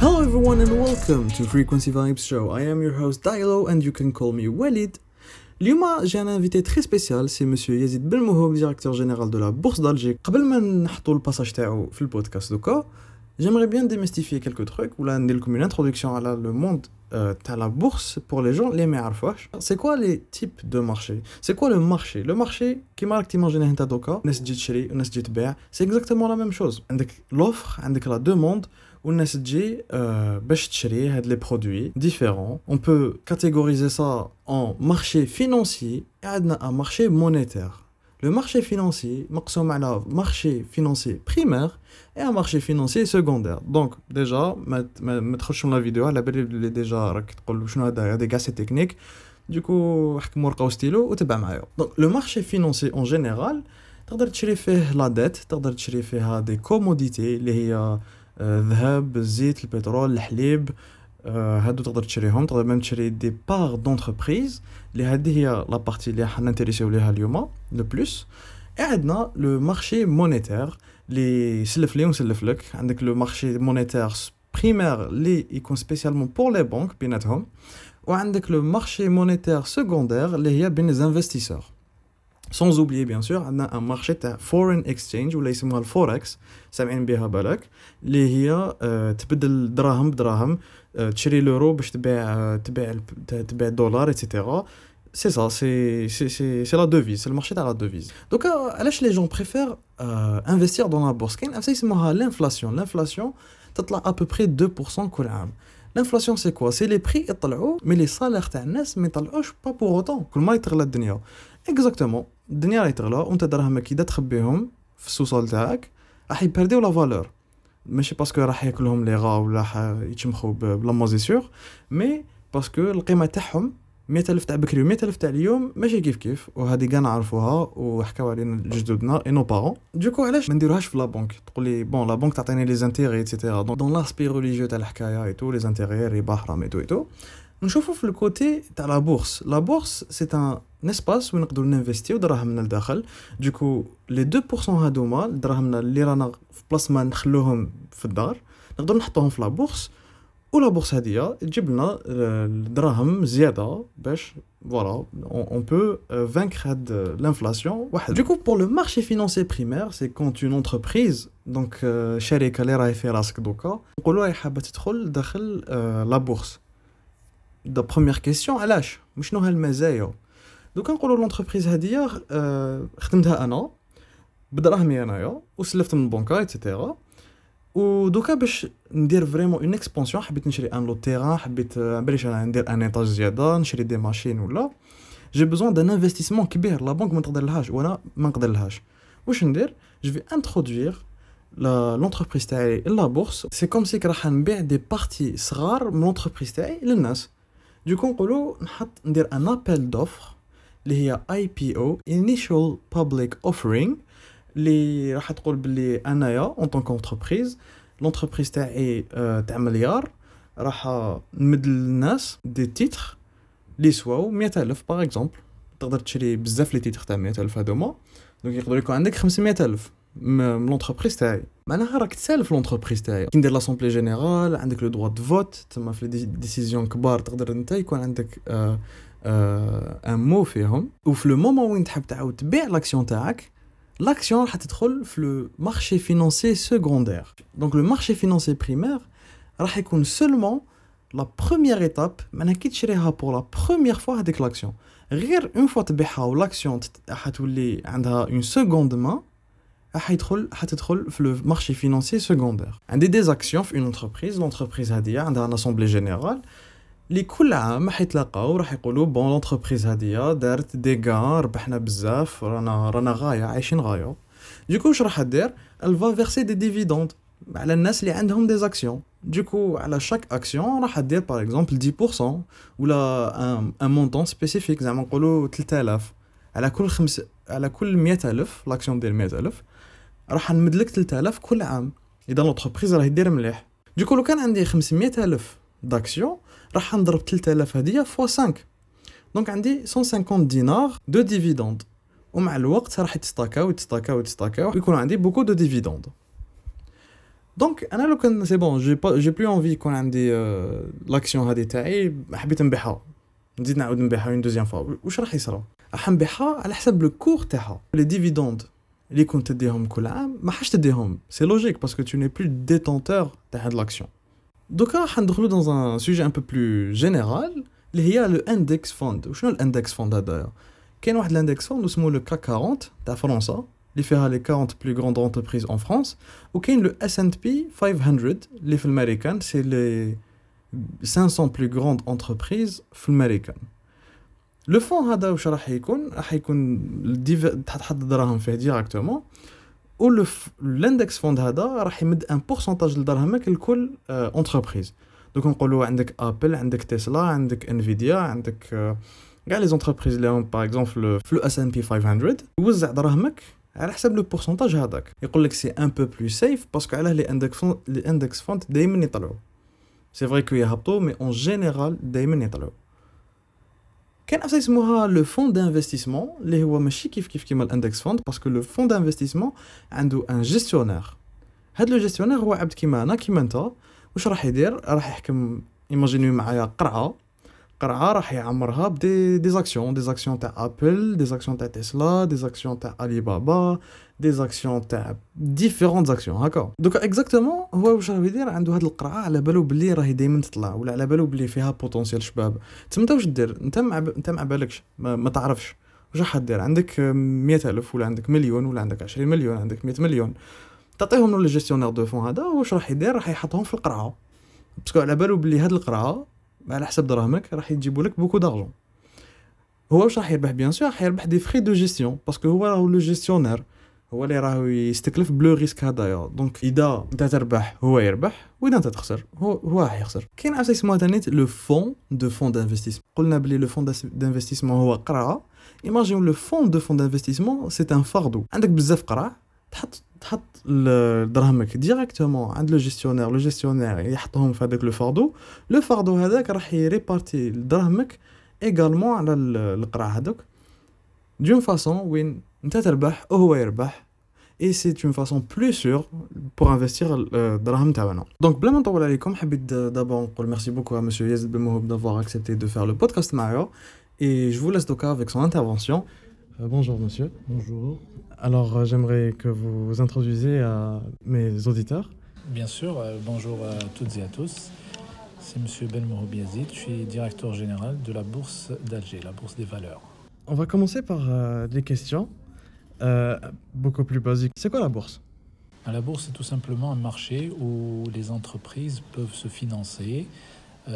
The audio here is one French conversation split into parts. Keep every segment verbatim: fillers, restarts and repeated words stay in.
Hello everyone and welcome to Frequency Vibes Show. I am your host Dialo and you can call me Walid. اليوم j'ai un invité très spécial, c'est monsieur Yazid Belmohob, directeur général de la Bourse d'Alger. قبل ما نحطوا الباساج تاعو في البودكاست دوكا, j'aimerais bien démystifier quelques trucs ولا ندير لكم une introduction على le monde euh, تاع la bourse pour les gens اللي ما يعرفوش. C'est quoi les types de marché? C'est quoi le marché? Le marché كيما راك تيماجينيه انت دوكا, الناس تجي تشري والناس تجي تبيع. C'est exactement la même chose. عندك l'offre, عندك la demande والناس تجي euh, باش تشري هاد لي برودوي ديفيرون. On peut catégoriser ça en marché financier et عندنا un marché monétaire. Le marché financier مقسوم على marché financier primaire et un marché financier secondaire. Donc déjà ما ما تخشوا لا فيديو على بالي اللي ديجا راك تقول شنو هذا هذا كاع سي تكنيك. دوكو حكم ورقه وستيلو وتبع معايا. Donc le marché financier en général تقدر تشري فيه لا ديت, تقدر تشري فيها دي كوموديتي اللي هي الذهب, الزيت, البترول, الحليب. هادو تقدر تشريهم. تقدر même تشري دي بار دونتربريز اللي هذه هي لا بارتي اللي حنا نتريسيو ليها اليوم لو بلوس. عندنا لو مارشي مونيتير اللي يسلف لي ونسلف لك. عندك لو مارشي مونيتير بريمير اللي يكون سبيسيالمون بور لي بانك بيناتهم, وعندك لو مارشي مونيتير سكوندير اللي هي بين لي انفستيسور. Sans oublier bien sûr عندنا un marché تاع foreign exchange ولا يسموها الفوركس, سامعين بها بالك, اللي هي أه تبدل دراهم بدراهم, أه تشري لورو باش تبيع أه تبيع تبيع دولار ايتترا. سي سا سي سي سي سي لا دوفيز, سي المارشي تاع لا دوفيز. دوكا علاش لي جون بريفير انفستير دون لا بورس؟ كاين افسا يسموها لانفلاسيون. لانفلاسيون تطلع ابوبري deux pour cent كل عام. L'inflation c'est quoi? C'est les prix يطلعوا mais les salaires تاع الناس ما يطلعوش pas pour autant. كل ما يتغلى الدنيا exactement الدنيا راهي تغلى وانت دراهمك اذا تخبيهم في السوسول تاعك راح يبرديو لا فالور, ماشي باسكو راح ياكلهم لي غا ولا راح يتشمخوا بلا موزيسور, مي باسكو القيمه تاعهم مية ألف تاع بكري و مية ألف تاع اليوم ماشي كيف كيف, وهذه كاع نعرفوها وحكاو علينا جدودنا اي نو بارون. دوكو علاش ما نديروهاش في لا بنك؟ تقول لي بون لا بنك تعطيني لي زانتيغي ايتترا دون لاسبي ريليجيو تاع الحكايه اي تو لي زانتيغي ربح رام اي تو اي تو. نشوفوا في الكوتي تاع لا بورس. لا بورس سي ان اسباس وين نقدروا نانفيستيو دراهمنا لداخل. دوكو لي deux pour cent هادوما دراهمنا اللي رانا في بلاص ما نخلوهم في الدار نقدروا نحطوهم في لا بورس, ولا بورس هذه تجيب لنا الدراهم زياده باش فوالا on peut vaincre هاد l'inflation واحد. دوكو pour le marché financier primaire c'est quand une entreprise donc شركه اللي راهي في راسك دوكا نقولوا راهي حابه تدخل داخل لا بورس. دا بروميير كيسيون علاش شنو هالمزايا؟ دوكا نقولوا لونتربريز هذه خدمتها انا بدراهمي انايا وسلفت من البنكه ايتترا, ودوكا باش ندير فريمون اون اكسبانسيون حبيت نشري ان لو تيران, حبيت بلاش انا ندير ان ايطاج زياده نشري دي ماشين ولا جي بوزون دان انفستيسمون كبير لا بنك ما تقدرلهاش وانا ما نقدرلهاش. واش ندير؟ جو في انترودوير لا لونتربريز تاعي لا بورس. سي كوم سي راح نبيع دي بارتي صغار من لونتربريز تاعي للناس. دوكو نقولوا نحط ندير ان ابل دوفر اللي هي اي بي او initial public offering, اللي راح تقول باللي انايا اون طونك انتربريز لونتربريز تاعي اه تاع مليار راح نمد للناس دي تيتر لي سواو مية ألف باغ اكزومبل. تقدر تشري بزاف لي تيتر تاع مية ألف هذوما, دونك يقدر يكون عندك خمسمية ألف من لونتربريز تاعي. معناها راك تسالف لونتربريز تاعي. كي ندير لاسامبلي جينيرال عندك لو دروا دو فوت, تما في لي ديسيزيون كبار تقدر انت يكون عندك اه ان مو فيهم. وفي لو مومون وين تحب تعاود تبيع لاكسيون تاعك, l'action راح تدخل في le marché financier secondaire. Donc le marché financier primaire راح يكون seulement la première étape. معناها كي تشريها pour la première fois هذيك l'action, غير une fois تبيعها و l'action حتولي عندها une seconde main راح يدخل حتدخل في le marché financier secondaire. عندي des actions في une entreprise. l'entreprise هذه عندها un assemblée générale اللي كل عام راح يتلاقاو راح يقولوا بون لونتربريز هذه دارت دي غان ربحنا بزاف رانا رانا غايه عايشين غايه. دوكو واش راح دير؟ الفا فيرسي دي ديفيدوند على الناس اللي عندهم دي زاكسيون. دوكو على شاك اكسيون راح دير باغ اكزومبل دix pour cent ولا ان ان مونطون سبيسيفيك, زعما نقولوا ثلاثة آلاف على كل خمس على كل مية ألف. لاكسيون ديال مية ألف راح نمد لك ثلاثة آلاف كل عام اذا لونتربريز راه يدير مليح. دوكو لو كان عندي خمسمية ألف داكسيون راح نضرب ثلاثة آلاف هديه فوا خمسة, دونك عندي مية وخمسين دينار دو ديفيدوند, ومع الوقت راح يتستاكاو يتستاكاو يتستاكاو ويكون عندي بوكو دو ديفيدوند. دونك انا لو كان سي بون جي با جي بلو انفي يكون عندي لاكسيون هذه تاعي حبيت نبيعها نزيد نعاود نبيعها اون دوزيام فوا واش راح يصرى راح نبيعها على حسب لو كور تاعها لي ديفيدوند اللي كنت تديهم كل عام ما حاش تديهم سي لوجيك باسكو تو ني بلو ديتونتور تاع هاد لاكسيون دوكا راح ندخلو دون ان سوجي ان بو بلو جينيرال اللي هي لو اندكس فوند وشنو الاندكس فوند هذايا كاين واحد الاندكس فوند اسمه لو كاك أربعين تاع فرنسا اللي فيها لي أربعين بلو غروند انتربريز ان فرانس وكاين لو اس اند بي خمسمية اللي في الامريكان سي لي خمسمية بلو غروند انتربريز في الامريكان لو فون هذا واش راح يكون راح يكون تحط الدراهم فيه ديريكتومون و لو الاندكس فوند هذا راح يمد ان بورسونتاج لدراهمك لكل انتربريز دوك نقولوا عندك ابل عندك تسلا عندك انفيديا عندك كاع لي زونتربريز اللي هم باغ اكزومبل في لو اس ان بي خمسمية يوزع دراهمك على حسب لو بورسونتاج هذاك يقول لك سي ان بو بلو سيف باسكو علاه لي اندكس فوند لي اندكس فوند دائما يطلعوا سي فري كو يهبطوا مي اون جينيرال دائما يطلعوا كاين حاجه اسمها لو فون دانفستيسمون اللي هو ماشي كيف كيف كيما الاندكس فوند باسكو لو فون دانفستيسمون عنده ان جيستيونير هاد لو جيستيونير هو عبد كيما انا كيما انت واش راح يدير راح يحكم ايماجينيو معايا قرعه قرعه راح يعمرها بدي دي زاكسيون دي زاكسيون تاع ابل دي زاكسيون تاع تسلا دي زاكسيون تاع علي بابا دي زاكسيون تاع ديفيرونت زاكسيون هكا دوكا اكزاكتومون هو واش راه يدير عنده هاد القرعه على بالو بلي راهي دائما تطلع ولا على بالو بلي فيها بوتونسيال شباب تما انت واش دير انت مع ب... انت مع بالكش ما, ما تعرفش واش راح دير عندك مية ألف ولا عندك مليون ولا عندك عشرين مليون عندك مية مليون تعطيهم لو جيستيونير دو فون هذا واش راح يدير راح يحطهم في القرعه باسكو على بالو بلي هاد القرعه على حسب دراهمك راح يجيبوا لك بوكو دارجون هو واش راح يربح بيان سور راح يربح دي فري دو جيستيون باسكو هو راهو لو جيستيونير هو اللي راهو يستكلف بلو ريسك هذايا دونك اذا انت تربح هو يربح واذا انت تخسر هو هو راح يخسر كاين عفسه اسمها ثاني لو فون دو فون دانفستيسمون قلنا بلي لو فون دانفستيسمون هو قرعه ايماجين لو فون دو فون دانفستيسمون سي ان فاردو عندك بزاف قرع تحط تحط دراهمك ديريكتومون عند لو جيستيونير لو جيستيونير يحطهم في هذاك لو فاردو لو فاردو هذاك راح يريبارتي دراهمك ايغالمون على القرع هذوك دون فاصون وين انت تربح وهو يربح اي سي اون فاصون بلو سور بور انفستير الدراهم تاعنا دونك بلا ما نطول عليكم حبيت دابا نقول ميرسي بوكو ا مسيو يزيد بن موهوب دافوار اكسبتي دو فير لو بودكاست معايا et je vous laisse donc avec son intervention. Euh, bonjour monsieur. Bonjour. Alors euh, j'aimerais que vous vous introduisiez à mes auditeurs. Bien sûr, euh, bonjour à toutes et à tous. C'est monsieur Ben Mohoub Yazid, je suis directeur général de la bourse d'Alger, la bourse des valeurs. On va commencer par euh, des questions euh, beaucoup plus basiques. C'est quoi la bourse ? La bourse, c'est tout simplement un marché où les entreprises peuvent se financer, euh,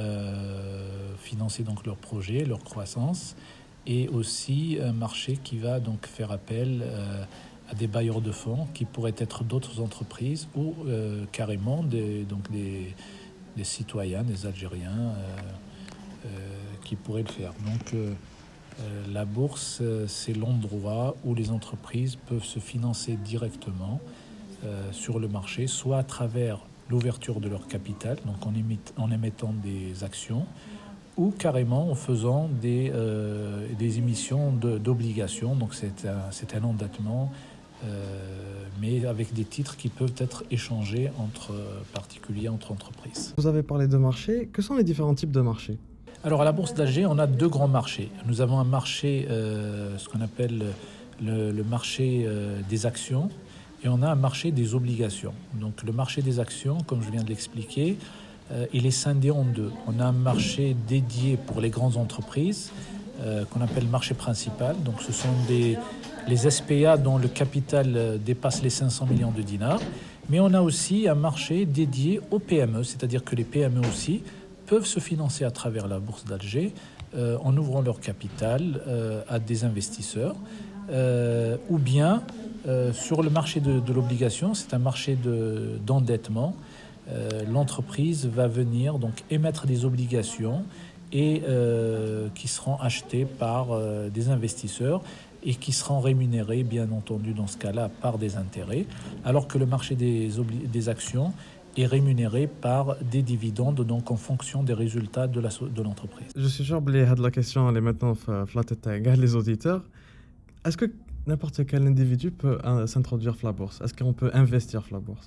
financer donc leurs projets, leur croissance, et aussi un marché qui va donc faire appel euh, à des bailleurs de fonds qui pourraient être d'autres entreprises ou euh, carrément des, donc des, des citoyens, des Algériens euh, euh, qui pourraient le faire. Donc euh, euh, la bourse, c'est l'endroit où les entreprises peuvent se financer directement euh, sur le marché, soit à travers l'ouverture de leur capital, donc en, émit, en émettant des actions, ou carrément en faisant des, euh, des émissions de, d'obligations. Donc c'est un, c'est un endettement, euh, mais avec des titres qui peuvent être échangés entre particuliers, entre entreprises. Vous avez parlé de marché. Que sont les différents types de marchés ? Alors à la Bourse d'Alger, on a deux grands marchés. Nous avons un marché, euh, ce qu'on appelle le, le marché euh, des actions, et on a un marché des obligations. Donc le marché des actions, comme je viens de l'expliquer, Euh, il est scindé en deux. On a un marché dédié pour les grandes entreprises euh, qu'on appelle marché principal. Donc ce sont des, les S P A dont le capital euh, dépasse les cinq cents millions de dinars. Mais on a aussi un marché dédié aux P M E, c'est-à-dire que les P M E aussi peuvent se financer à travers la bourse d'Alger euh, en ouvrant leur capital euh, à des investisseurs euh, ou bien euh, sur le marché de, de l'obligation, c'est un marché de, d'endettement. Euh, l'entreprise va venir donc émettre des obligations et euh, qui seront achetées par euh, des investisseurs et qui seront rémunérés bien entendu dans ce cas-là par des intérêts, alors que le marché des, obli- des actions est rémunéré par des dividendes donc en fonction des résultats de, la, de l'entreprise. Je suis sûr que la question elle est maintenant dans la tête de les auditeurs. Est-ce que n'importe quel individu peut euh, s'introduire dans la bourse ? Est-ce qu'on peut investir dans la bourse ?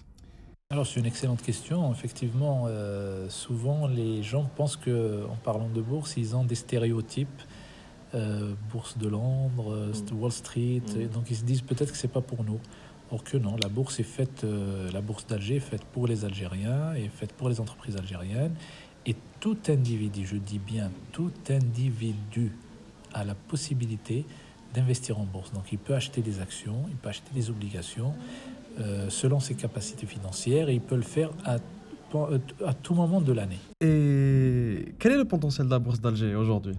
Alors, c'est une excellente question. Effectivement, euh, souvent les gens pensent que, en parlant de bourse, ils ont des stéréotypes. Euh, bourse de Londres, euh, Mm. Wall Street, et Mm. donc ils se disent peut-être que c'est pas pour nous. Or que non, la bourse est faite, euh, la bourse d'Alger est faite pour les Algériens, est faite pour les entreprises algériennes, et tout individu, je dis bien tout individu, a la possibilité d'investir en bourse. Donc il peut acheter des actions, il peut acheter des obligations euh, selon ses capacités financières, et il peut le faire à, à tout moment de l'année. Et quel est le potentiel de la bourse d'Alger aujourd'hui?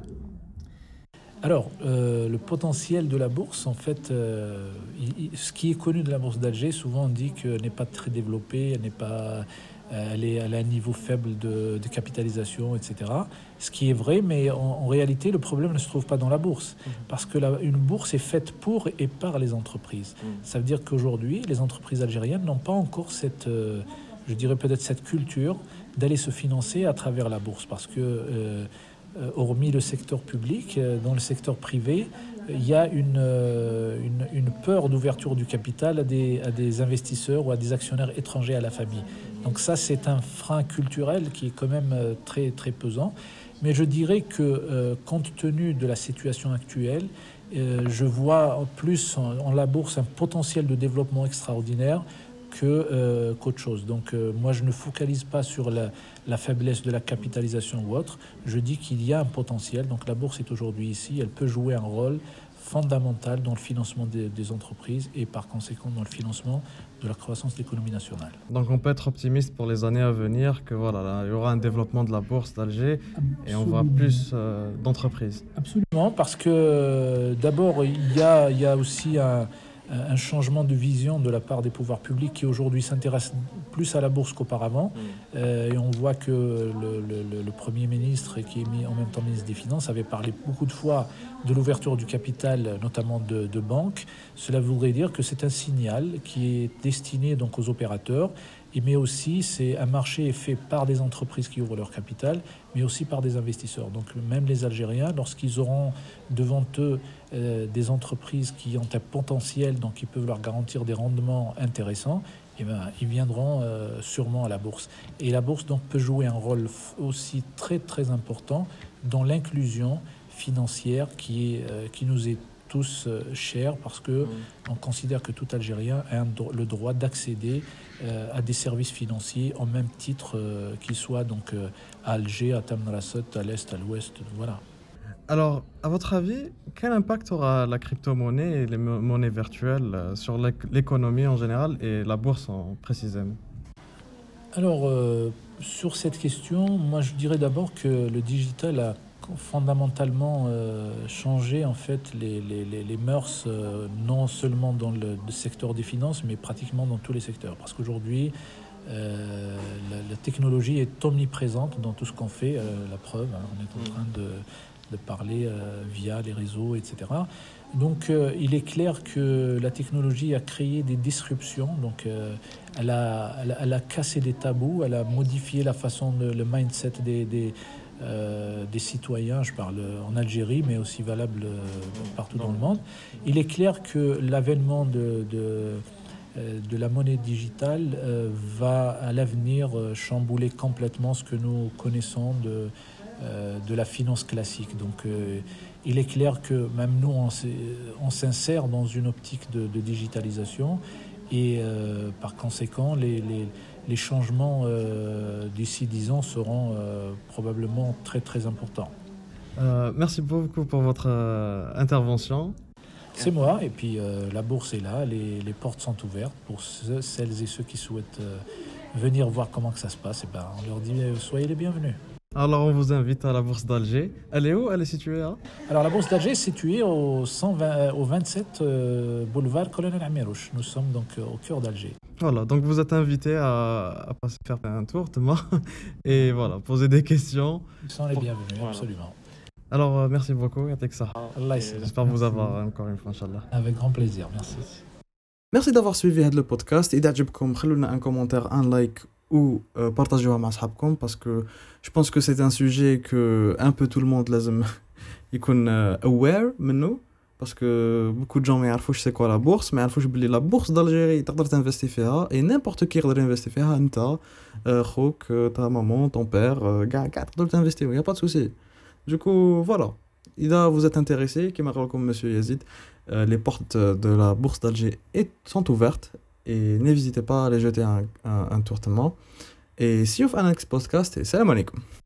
Alors, euh, le potentiel de la bourse, en fait, euh, il- il- ce qui est connu de la bourse d'Alger, souvent on dit qu'elle n'est pas très développée, elle n'est pas, euh, elle est, elle a un niveau faible de, de capitalisation, et cetera. Ce qui est vrai, mais en, en réalité, le problème ne se trouve pas dans la bourse, parce que la- une bourse est faite pour et par les entreprises. Ça veut dire qu'aujourd'hui, les entreprises algériennes n'ont pas encore cette, euh, je dirais peut-être cette culture d'aller se financer à travers la bourse, parce que euh, euh, hormis le secteur public, euh, dans le secteur privé, euh, il y a une, euh, une, une peur d'ouverture du capital à des, à des investisseurs ou à des actionnaires étrangers à la famille. Donc ça, c'est un frein culturel qui est quand même euh, très, très pesant. Mais je dirais que, euh, compte tenu de la situation actuelle, euh, je vois en plus en, en la bourse un potentiel de développement extraordinaire que, euh, qu'autre chose. Donc euh, moi, je ne focalise pas sur la, la faiblesse de la capitalisation ou autre. Je dis qu'il y a un potentiel. Donc la bourse est aujourd'hui ici. Elle peut jouer un rôle fondamental dans le financement des, des entreprises et par conséquent dans le financement de la croissance de l'économie nationale. Donc on peut être optimiste pour les années à venir que voilà, là, il y aura un développement de la bourse d'Alger et on voit plus euh, d'entreprises. Absolument, parce que euh, d'abord, il y a, il y a aussi un, un changement de vision de la part des pouvoirs publics qui aujourd'hui s'intéressent plus à la bourse qu'auparavant. Euh, et on voit que le, le- le Premier ministre, qui est mis en même temps ministre des Finances, avait parlé beaucoup de fois de l'ouverture du capital, notamment de, de banques. Cela voudrait dire que c'est un signal qui est destiné donc aux opérateurs, et mais aussi c'est un marché est fait par des entreprises qui ouvrent leur capital, mais aussi par des investisseurs. Donc même les Algériens, lorsqu'ils auront devant eux euh, des entreprises qui ont un potentiel, donc qui peuvent leur garantir des rendements intéressants, eh ben, ils viendront euh, sûrement à la bourse. Et la bourse donc peut jouer un rôle f- aussi très très important dans l'inclusion financière qui, est, euh, qui nous est tous euh, chère, parce que on considère que tout Algérien a un dro- le droit d'accéder euh, à des services financiers en même titre euh, qu'ils soient donc euh, à Alger, à Tamanrasset, à l'est, à l'ouest, voilà. Alors, à votre avis, quel impact aura la crypto-monnaie et les mo- monnaies virtuelles euh, sur l'éc- l'économie en général et la bourse en précisément? Alors, euh, sur cette question, moi je dirais d'abord que le digital a fondamentalement euh, changé en fait les, les, les, les mœurs, euh, non seulement dans le, le secteur des finances, mais pratiquement dans tous les secteurs. Parce qu'aujourd'hui, euh, la, la technologie est omniprésente dans tout ce qu'on fait. Euh, la preuve, hein, on est en train de, de parler euh, via les réseaux, et cetera. Donc euh, il est clair que la technologie a créé des disruptions, donc euh, elle, a, elle, a, elle a cassé des tabous, elle a modifié la façon, de, le mindset des, des, euh, des citoyens, je parle en Algérie, mais aussi valable euh, partout dans le monde. Il est clair que l'avènement de, de, euh, de la monnaie digitale euh, va à l'avenir euh, chambouler complètement ce que nous connaissons de, euh, de la finance classique. Donc euh, il est clair que même nous, on, s'est- on s'insère dans une optique de, de digitalisation, et euh, par conséquent, les, les, les changements euh, d'ici dix ans seront euh, probablement très très importants. Euh, merci beaucoup pour votre euh, intervention. C'est moi, et puis euh, la bourse est là, les, les portes sont ouvertes pour ceux- celles et ceux qui souhaitent euh, venir voir comment que ça se passe. Et ben, on leur dit euh, soyez les bienvenus. Alors, on vous invite à la bourse d'Alger. Elle est où? Elle est située à? Alors la bourse d'Alger est située au, cent vingt, euh, au vingt-sept euh, boulevard Colonel Amirouche. Nous sommes donc euh, au cœur d'Alger. Voilà, donc vous êtes invité à, à passer faire un tour demain et voilà, poser des questions. Ils sont les Pour- bienvenus, voilà. absolument. Alors, euh, merci beaucoup, Yatek ça. Allah يسلمك. J'espère vous avoir encore une fois, Inch'Allah. Avec grand plaisir, merci. Merci d'avoir suivi هذا البودكاست. إذا عجبكم خلونا un commentaire, un like ou euh, partagez-le مع أصحابكم parce que je pense que c'est un sujet que un peu tout le monde لازم يكون euh, aware منه parce que beaucoup de gens ما يعرفوش c'est quoi la bourse, ما يعرفوش بلي la bourse d'Algérie تقدر تنفستي فيها et n'importe qui يقدر ينفستي فيها. انت خوك ta maman ton père كاع كاع تقدروا تنفستيو, y a pas de souci. Du coup voilà, إذا vous êtes intéressé كما قال لكم monsieur Yazid, euh, les portes de la bourse d'Alger est- sont ouvertes et n'hésitez pas à aller jeter un, un, un tour tellement. Et see you في un next podcast et salam alaikum.